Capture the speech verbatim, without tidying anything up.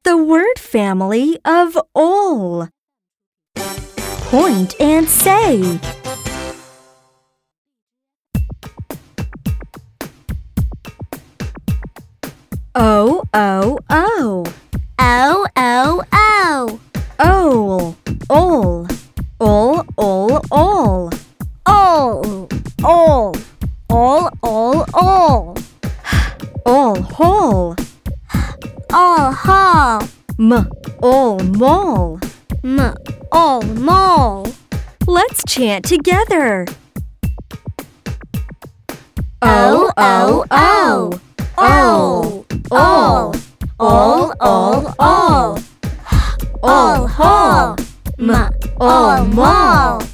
the word family of all. Point and say. O, O, O. O, O, O. Ol, ol. Ol, ol, ol. Ol, ol. Ol, ol, ol. Ol, hol. Ol, hol. M, ol, mol. M, ol, mol. Let's chant together. O, O, O. Ol, ol. Ol, ol, ol. Ol, hol. M, ol, mol.